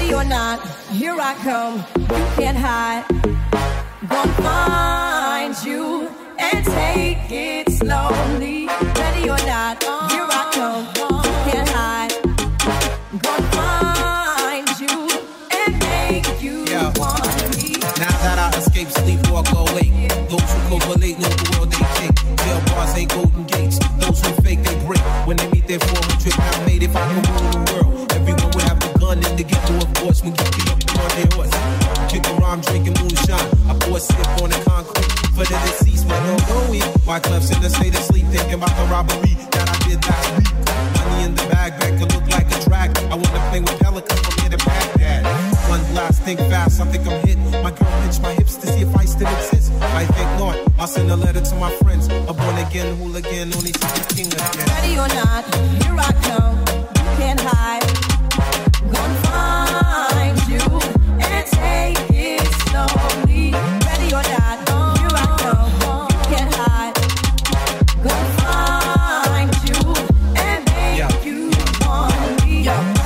Ready or not, here I come. You can't hide. Gonna find you and take it slowly. Ready or not, here I come. You can't hide. Gonna find you and make you want me. Now that I escape, sleep, walk awake. Those who correlate know the world they take. Jail bars ain't golden gates. Those who fake, they break. When they meet their 400-pound mate, if I could rule the world, everyone would have a gun in the ghetto, of course, when you get up on their horse. Kick around, drinking moonshine. I pour a sip on the concrete for the deceased, man, no going. My club's in the state of sleep, thinking about the robbery that I did last week. Money in the bag, back could look like a drag. I wanna play with pelicans from here to Baghdad. One blast, think fast, I think I'm hit. My girl pinched my hips to see if I still exist. I think not, I'll send a letter to my friends. A born again hooligan, only to the king again. Ready or not, here I come. You can't hide. Gonna find you and take it slowly. Ready or not, here I come. You can't hide. Gonna find you and make you want me.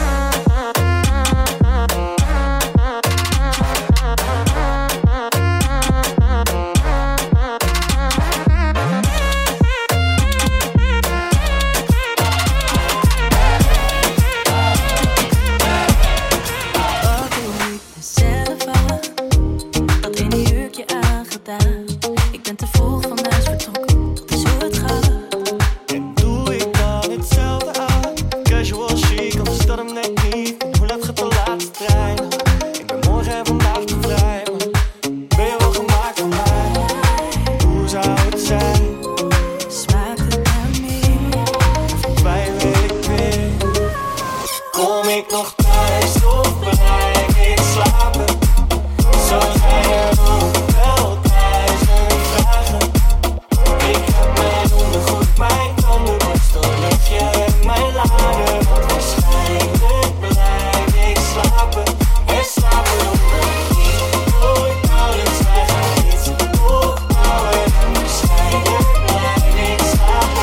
Ik ben te vroeg van huis vertrokken, dat is hoe het gaat. En doe ik dan hetzelfde aan? Casual chic, of is dat hem net niet? Hoe laat gaat de laatste trein? Ik ben morgen en vandaag te vrij, maar ben je wel gemaakt van mij? Hoe zou het zijn? Smaakt het naar meer? Wij wil ik weer. Kom ik nog thuis of blijf ik slapen? Zo zijn er nog wel duizend vragen. Ik heb mijn ondergoed, mijn tandenborstel, luchtje en mijn lader. Want waarschijnlijk blijf ik slapen. En slapen omdat ik niet nooit ouders wij gaan iets opbouwen. En waarschijnlijk blijf ik slapen.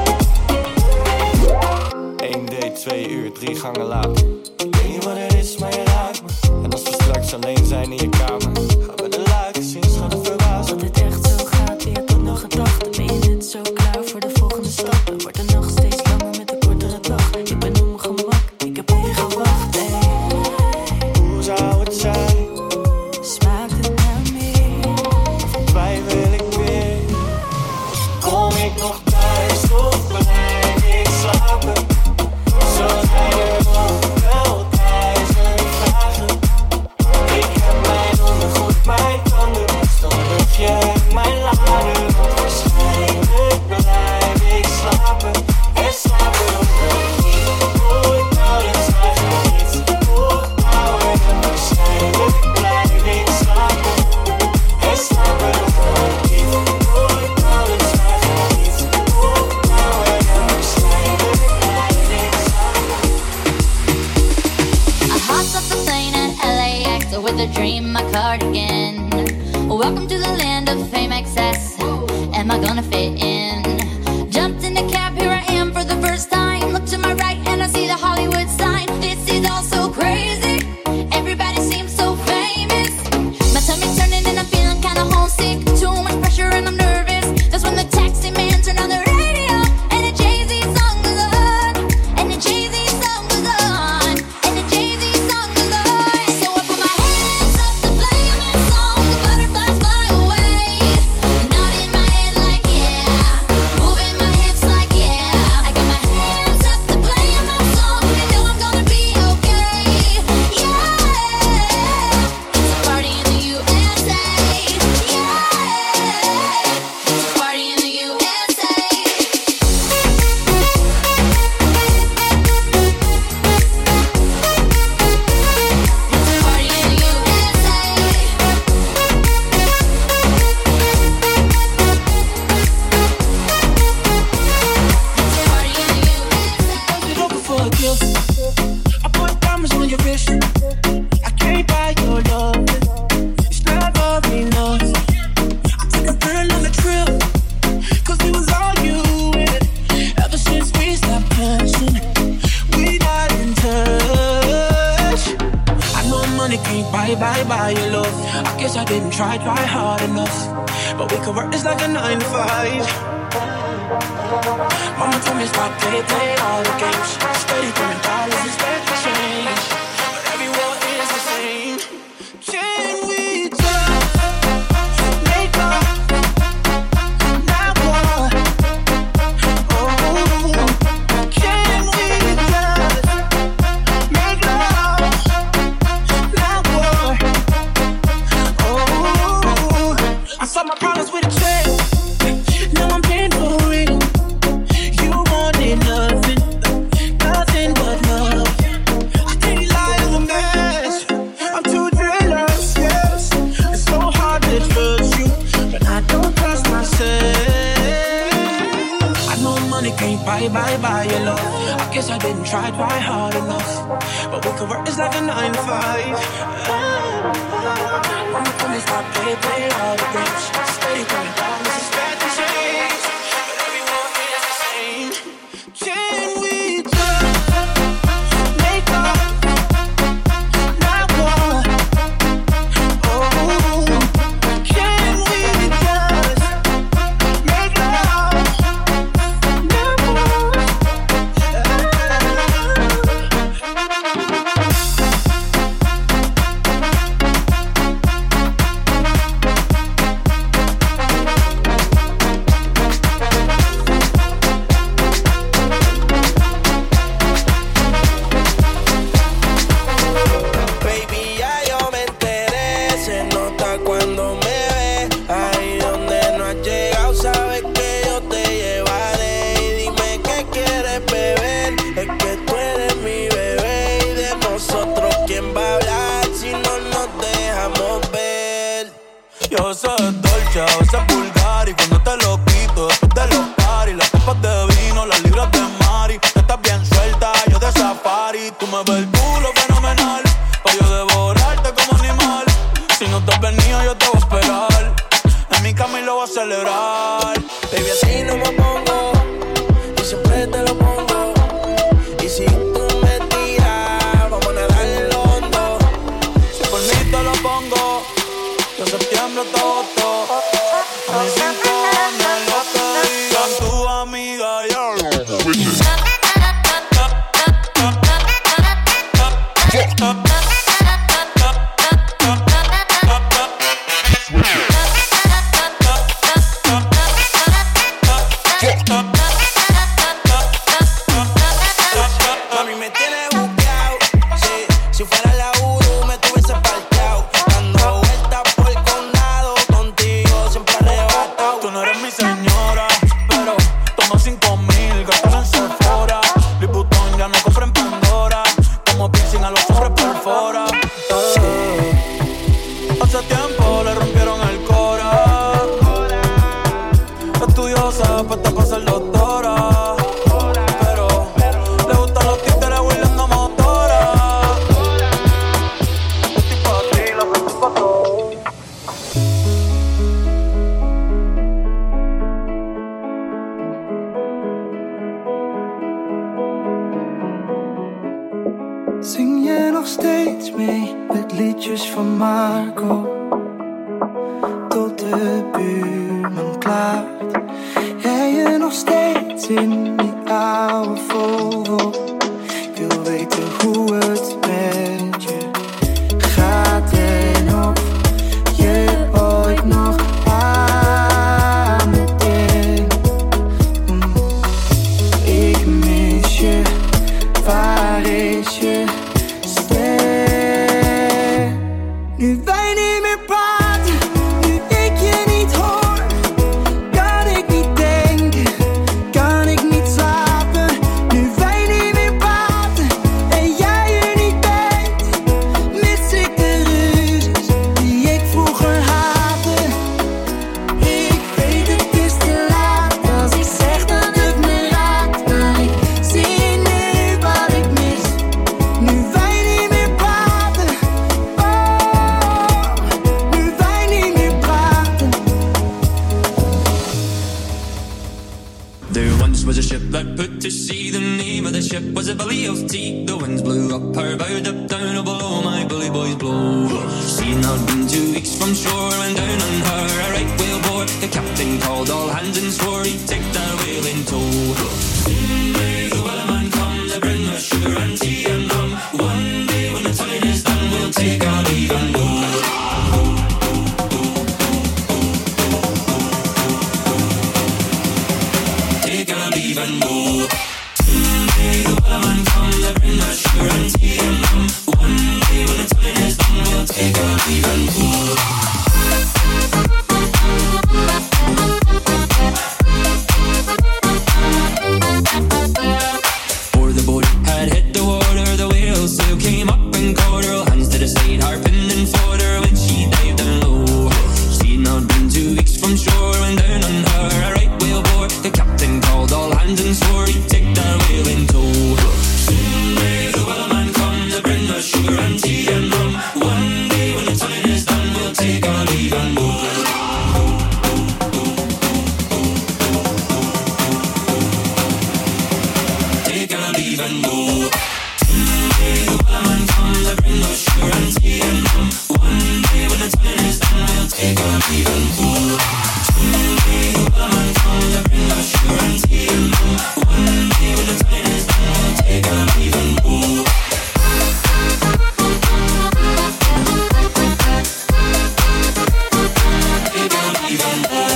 1 date, 2 uur, 3 gangen later. Ik weet niet wat het is, maar je raakt me. En als we straks alleen zijn in je kamer, gaan we de luiken zien, schat verbazen. Dat het echt zo gaat, je hebt ook nog gedachten. Ben je net zo klaar voor de volgende stap? En wordt de nacht steeds langer met een kortere dag. Ik ben op mijn gemak, ik heb op je gewacht. Hoe zou het zijn? Smaakt het naar meer? Wij wil ik weer. Kom ik nog thuis of blijf ik slapen? Zo zijn er nog wel duizend vragen. Ik heb mijn ondergoed, mijn tandenborstel, luchtje en mijn lader. Want waarschijnlijk blijf ik slapen. En slapen omdat ik niet nooit ouders wij gaan iets opbouwen. En waarschijnlijk blijf ik slapen. En slapen omdat ik niet nooit ouders wij gaan iets opbouwen. En waarschijnlijk blijf ik slapen. I hopped off the plane at LAX with a dream, my cardigan. Welcome to the land of fame excess. Am I gonna fit in? Jumped in the cab, here I am for the first time. Look to my right and I see the Hollywood sign. This is all so crazy. Everybody seems so famous. My tummy's turning and I'm feeling kinda homesick. Too much pressure and I'm nervous. That's when the taxi man turned on the radio and the Jay-Z song was on. And the Jay-Z song was on. And the Jay-Z song was on. So I put my hands up to play my song. The butterflies fly away. Nodding my head like yeah. Moving my hips like yeah. I got my hands up to play my song. I know I'm gonna be okay. Yeah. It's a party in the USA. Yeah. It's a party in the USA. You're looking for a gift. I put diamonds on your wrist. I can't buy your love. It's never enough. I took a girl on a trip, 'cause it was all you with. Ever since we stopped touching, we not in touch. I buy your love. I guess I didn't try hard enough. But we could work this like a 9 to 5. Mama told me stop play all the games. Steady throwing dollars, expect to change. But every war is the same. Can we just make up? Now what? Oh, can we just make love? Now what? Oh, I saw my problems with a check. Now I'm paying for it. You wanted nothing but love. I think life is a mess. I'm too jealous, yes. It's so hard to trust you, but I don't trust myself. I know money can't buy your love. I guess I didn't try hard enough. But we could work this like a 9 to 5. Mama told me stop play all the games. Steady coming down, this is bad to change. But everyone is the same. Can we just make up? Now what? Oh, can we just make love? Now what? Baby, ya yo me enteré, se nota cuando me ves. Ahí donde no has llegado, sabes que yo te llevaré. Y dime qué quieres beber, es que tú eres mi bebé. Y de nosotros, ¿quién va a hablar si no nos dejamos ver? Yo soy dolce, a veces vulgar. Y cuando te lo quito, después de los party, las copas de vino, las libras de Mari. Tú estás bien suelta, yo de safari. Tú me ves el culo fenomenal, pa' yo devorarte como animal. Si no te has venido, yo te voy a esperar. En mi cama y lo voy a celebrar. Baby, así no me pongo, y siempre te lo pongo. Y si tú me tiras, vamos a nadar en lo hondo. Si por mí te lo pongo, de septiembre hasta agosto. A mis 5 años, lo que digan tu amiga, yo. Mami, me tienes buqueado, sí. Si fuera la Uru, me tuviese parqueado. Dando vueltas por el condado, contigo siempre arrebatado. Tú no eres mi señora, pero toma 5,000, gastas en Sephora. Louis Vuitton ya no compra en Pandora. Como piercing a los hombres perfora. Hace tiempo le rompieron el cora. Estudiosa, puesta para ser doctora. Pero le gustan los títeres huirleando motora. Estoy pa' ti, lo que estoy pa' todo. Zing je nog steeds mee met liedjes van Marco? Tot de buurman klaart. Jij je nog steeds in die oude Volvo? Ik wil weten hoe het met je gaat en of je ooit nog aan me denkt. Ik mis je, waar is je ster? Nu wij niet meer praten, nu ik je niet hoor, kan ik niet denken, kan ik niet slapen. Nu wij niet meer praten en jij er niet bent, mis ik de ruzies die ik vroeger haatte. Ik weet het is te laat als ik zeg dat het me raakt, maar ik zie nu wat ik mis. Nu wij niet meer praten, oh, nu wij niet meer praten. There once was a ship that put to sea. The name of the ship was a Belly of Tea. The winds blew up her bow, up down, oh below my bully boys blow. Seen I'd been 2 weeks from shore when down on her a right whale bore. The captain called all hands and swore he'd take that whale in tow. Soon may the wellerman come to bring us sugar and tea and rum. One day when the time is done, we'll take our leave and go. Take our leave and go. Soon may the wellerman come to bring us sugar and tea and rum. One day when the time is done, we'll take our leave and go. Before the boat had hit the water, the whale sail came up and caught her. Hands to the side, harping and fought her when she dived down low. She'd not been 2 weeks from shore when down on her a right whale bore. The captain called all hands and swore he'd take that whale in tow. Soon may the wellerman come to bring us sugar and tea and rum. One day when the time is done, we'll take our leave and go. Take our leave and go. Soon may the wellerman come to bring us sugar and tea and rum. One day when the time is done, we'll take our leave and go. Soon may the wellerman come to bring us sugar and tea and rum. One day when the time is done, we'll take our leave and go. Take our leave and go.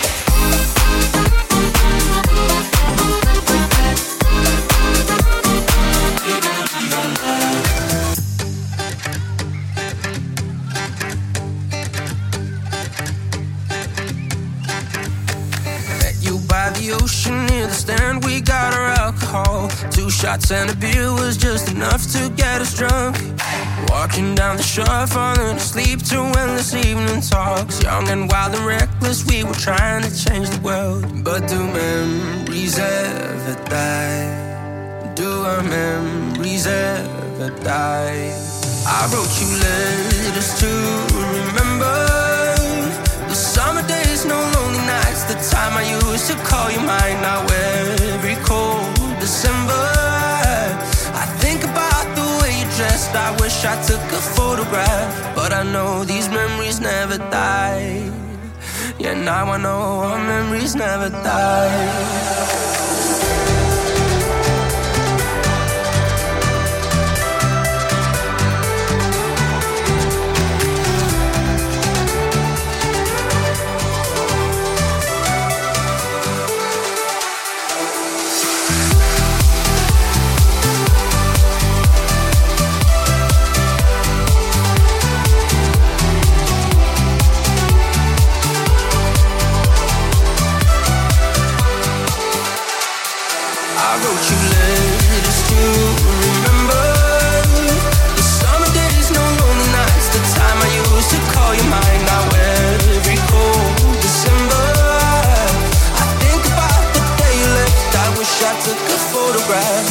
Met you by the ocean near the stand, we got our alcohol. 2 shots and a beer was just enough to get us drunk. Walking down the shore, falling asleep to endless evening talks. Young and wild and reckless, we were trying to change the world. But do memories ever die? Do our memories ever die? I wrote you letters to remember the summer days, no lonely nights. The time I used to call you mine. Now every cold December, I think about the way you dressed. I wish I took a photograph, but I know these memories never die. Yeah, now I know our memories never die. I wrote you letters to remember the summer days, no lonely nights. The time I used to call you mine. Now every cold December, I think about the day you left. I wish I took a photograph.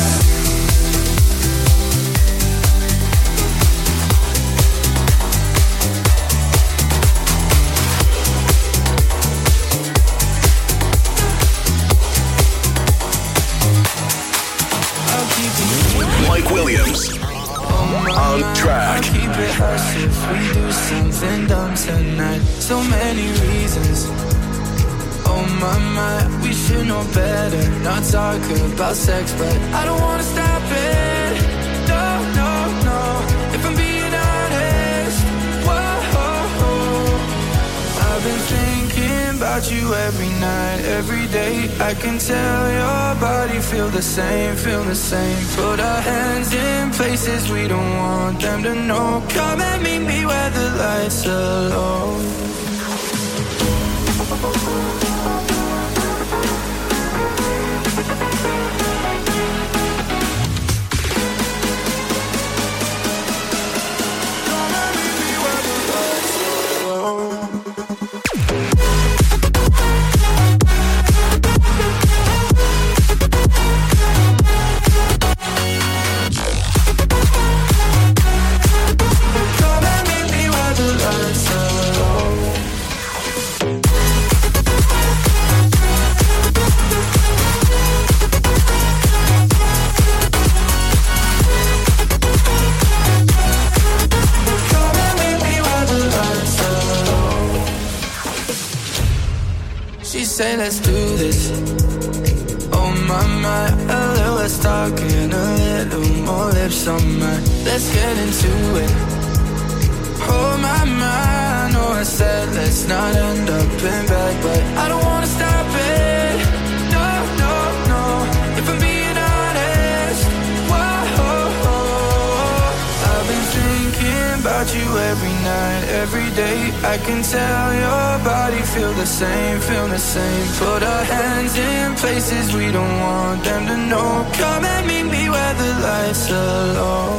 Mike Williams on track. I keep it hush if we do something dumb tonight. So many reasons. Oh my, we should know better. Not talk about sex, but I don't wanna stop it. No, no, no. If I'm being honest, whoa, I've been thinking about you every night, every day. I can tell your body feel the same, feel the same. Put our hands in places we don't want them to know. Come and meet me where the lights are low. Come and meet me where the lights are low. say let's do this. Oh my, a little less talking, a little more lips on mine. Let's get into it. Oh my, I know I said let's not end up in bed, but I don't wanna stop it. No, no, no. If I'm being honest, whoa, I've been thinking about you every night, every day. I can tell your body feel the same, feel the same. Put our hands in places we don't want them to know. Come and meet me where the lights are low.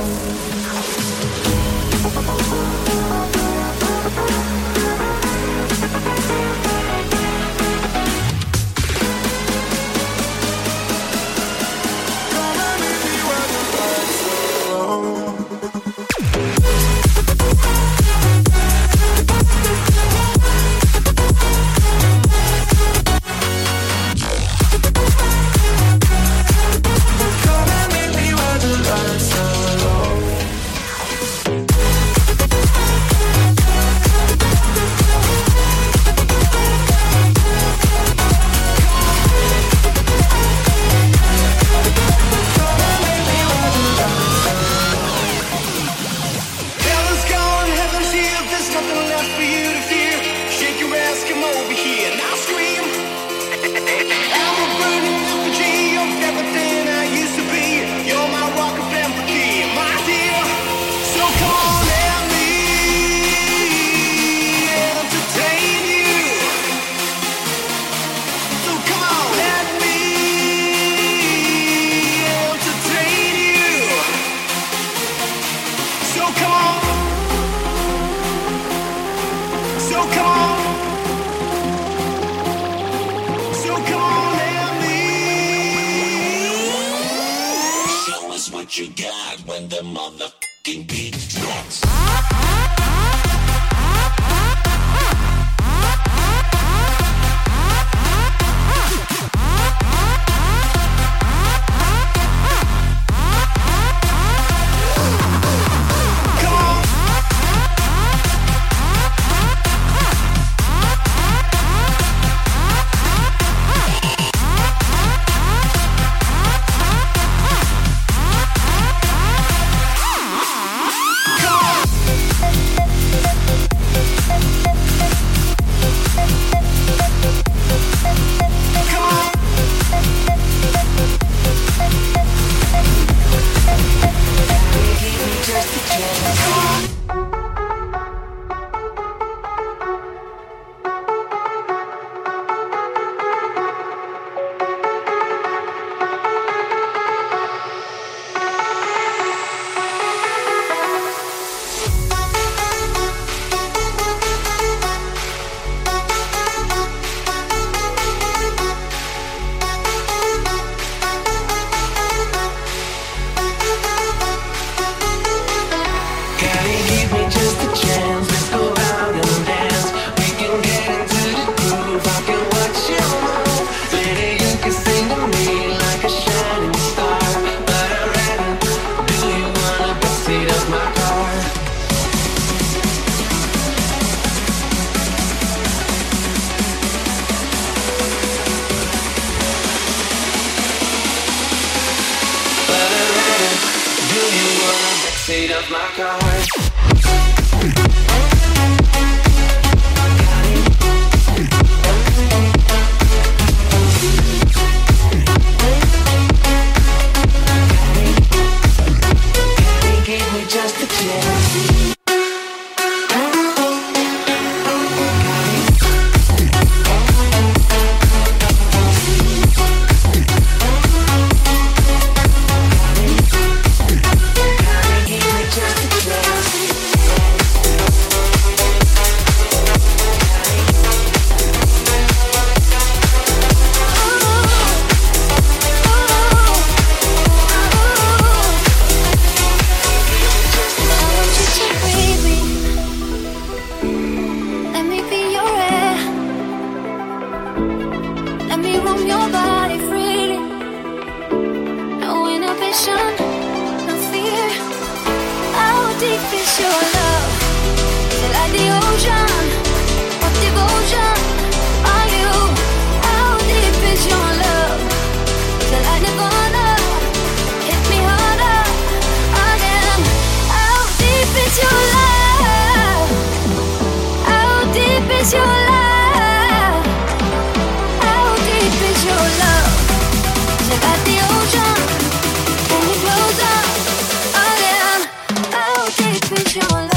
is your love? How deep is your love? Is it like the ocean? When you close up again, how deep is your love?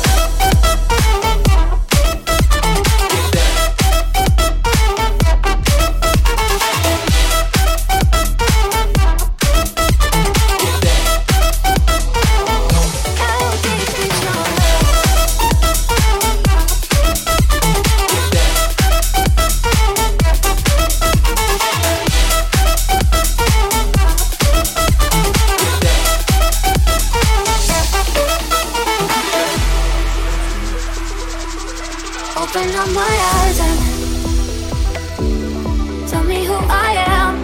Open up my eyes and tell me who I am.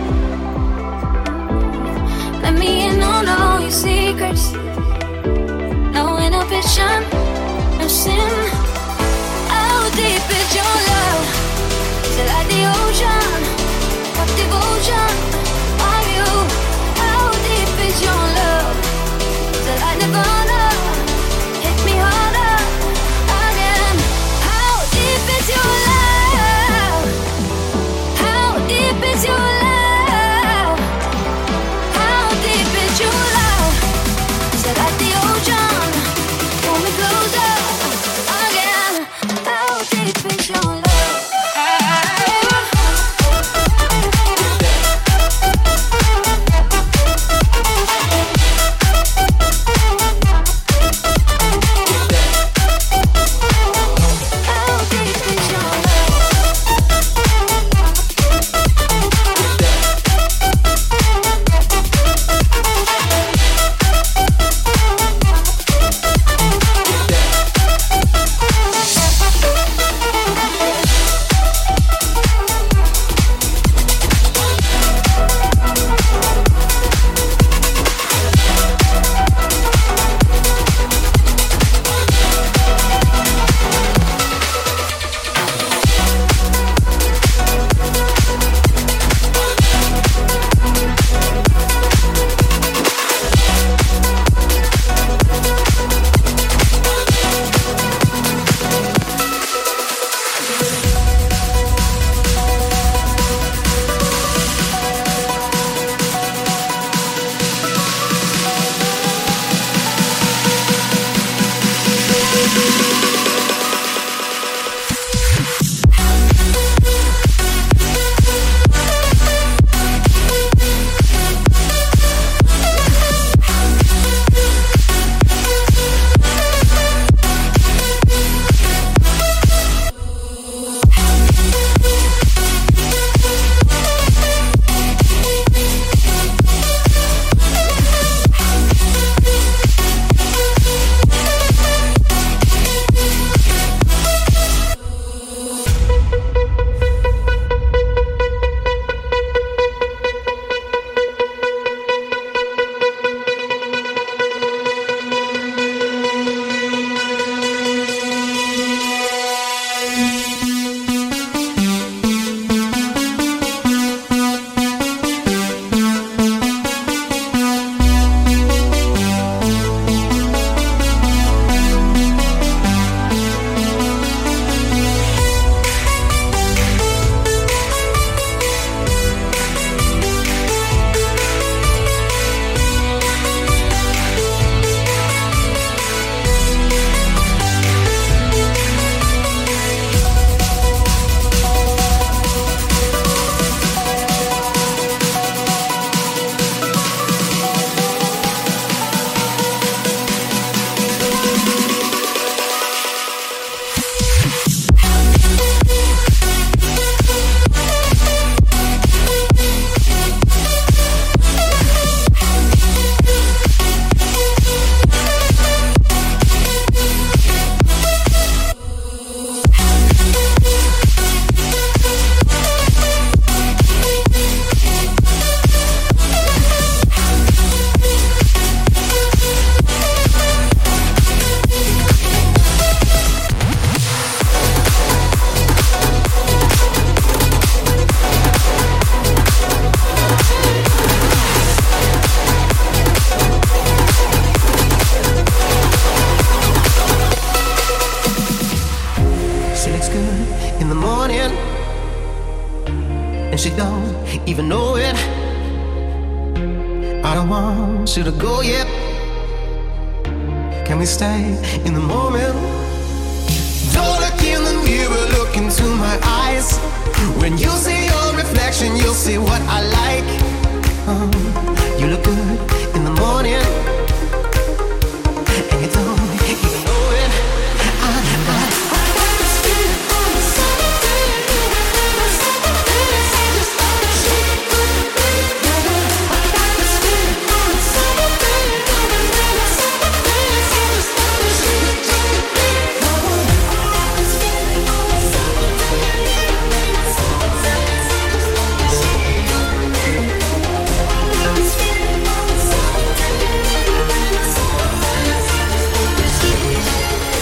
Let me in on all your secrets. No inhibition, no sin. How deep is your love? Is it like the ocean? What devotion are you? How deep is your love? Is it like Nirvana? Hit me harder again. How deep is your love? How deep is your love? How deep is your love? Is it like the ocean? Pull me closer again. How deep is your love? she don't even know it. I don't want you to go yet. Can we stay in the moment? Don't look in the mirror, look into my eyes. When you see your reflection, you'll see what I like. You look good in the morning, and you don't even know it. I got this feeling on a summer day. On a summer day, I just thought that she could be the one. I got this feeling on a summer day. On a summer day, I just thought that she could be the one. I got this feeling on a summer day. On a summer day, I just thought that she could be the one. I got this feeling on a summer day. On a summer day, I just thought that she could be the one.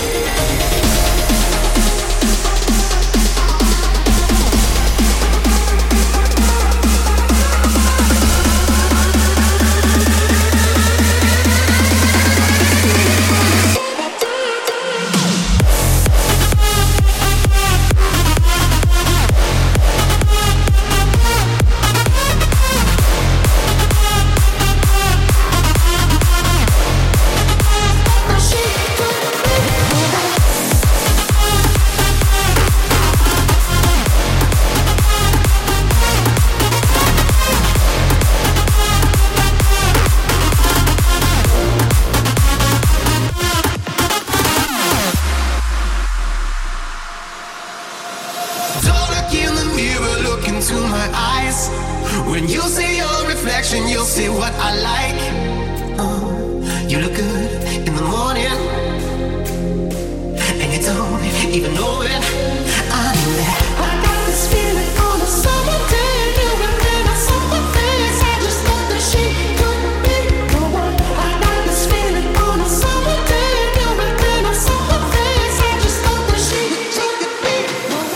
Don't look in the mirror, look into my eyes. When you see your reflection, you'll see what I like. You look good in the morning, and you don't even know it. I know that. I got this feeling on a summer day. You and me on summer days. I just thought that she could be the one. I got this feeling on a summer day. You and me on summer days. I just thought that she could be the one.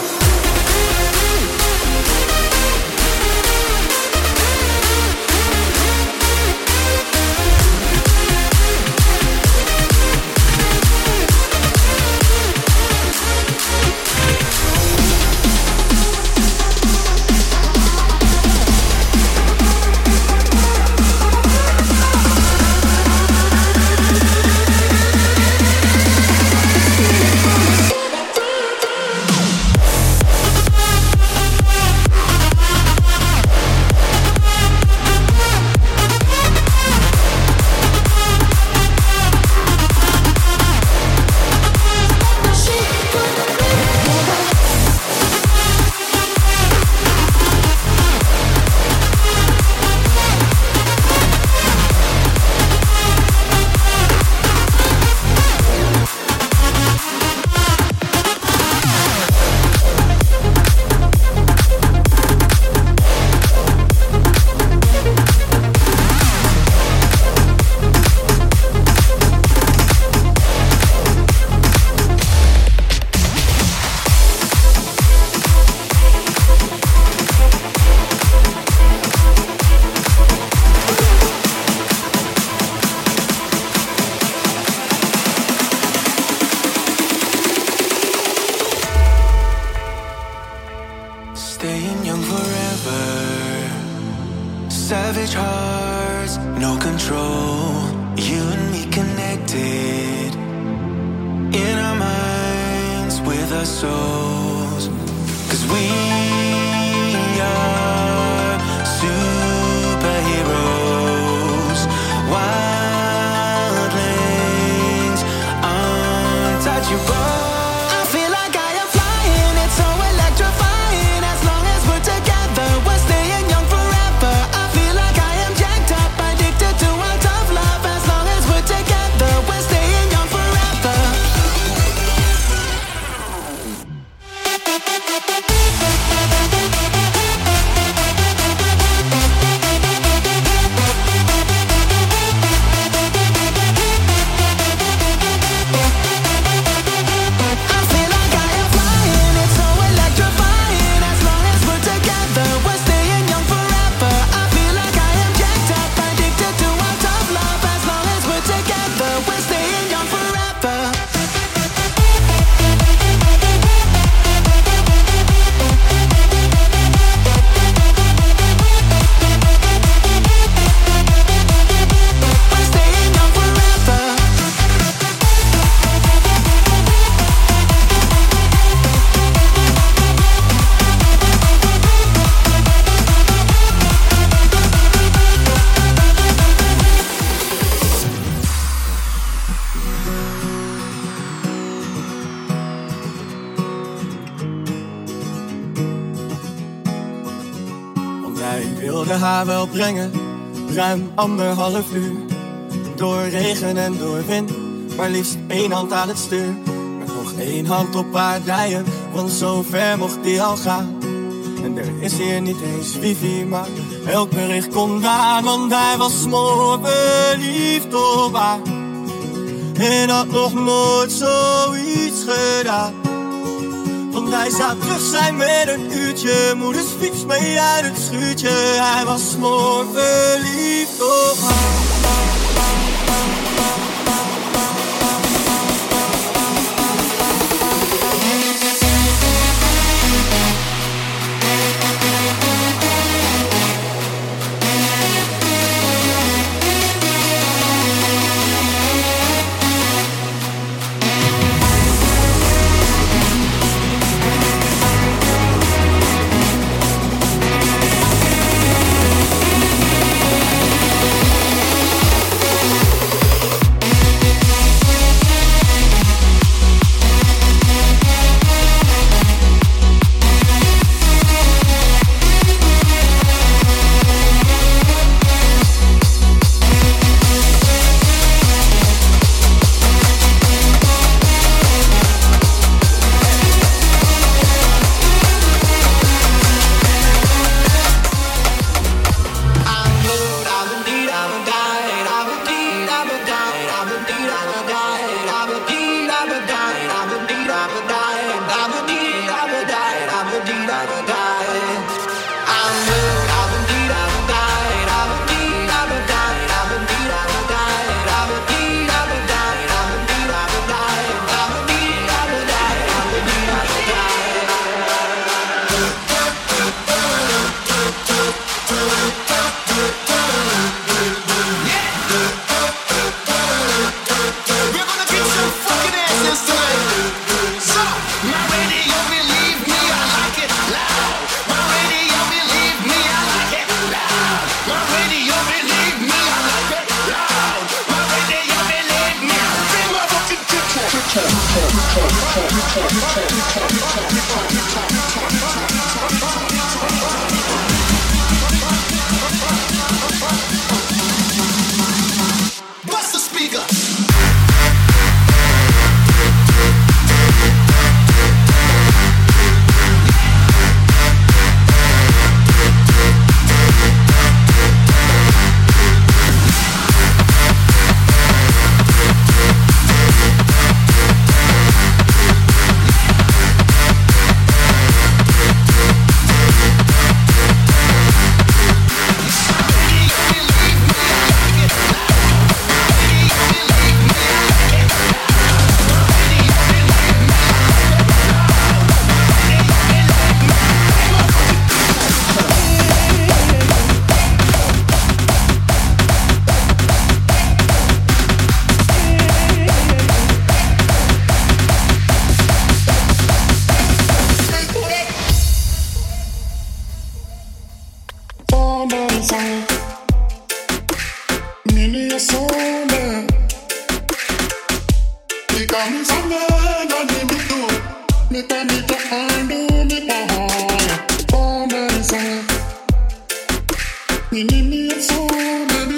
Staying young forever. Savage hearts, no control. You and me connected. In our minds, with our souls. 'Cause we are superheroes. Wildlings, untouchable. I feel like I am flying, it's so electrifying. As long as we're together, we're staying young forever. I feel like I am jacked up, addicted to our tough love. As long as we're together, we're staying young forever. wilde haar wel brengen, ruim 1,5 uur. Door regen en door wind, maar liefst 1 hand aan het stuur. Met nog 1 hand op haar dijen, want zo ver mocht die al gaan. En er is hier niet eens wifi, maar elk bericht kon aan. Want hij was smoorverliefd op haar en had nog nooit zoiets gedaan. Want hij zou terug zijn met een uurtje, moeders fiets mee uit het schuurtje. Hij was smoorverliefd op haar.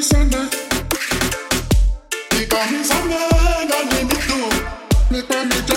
Me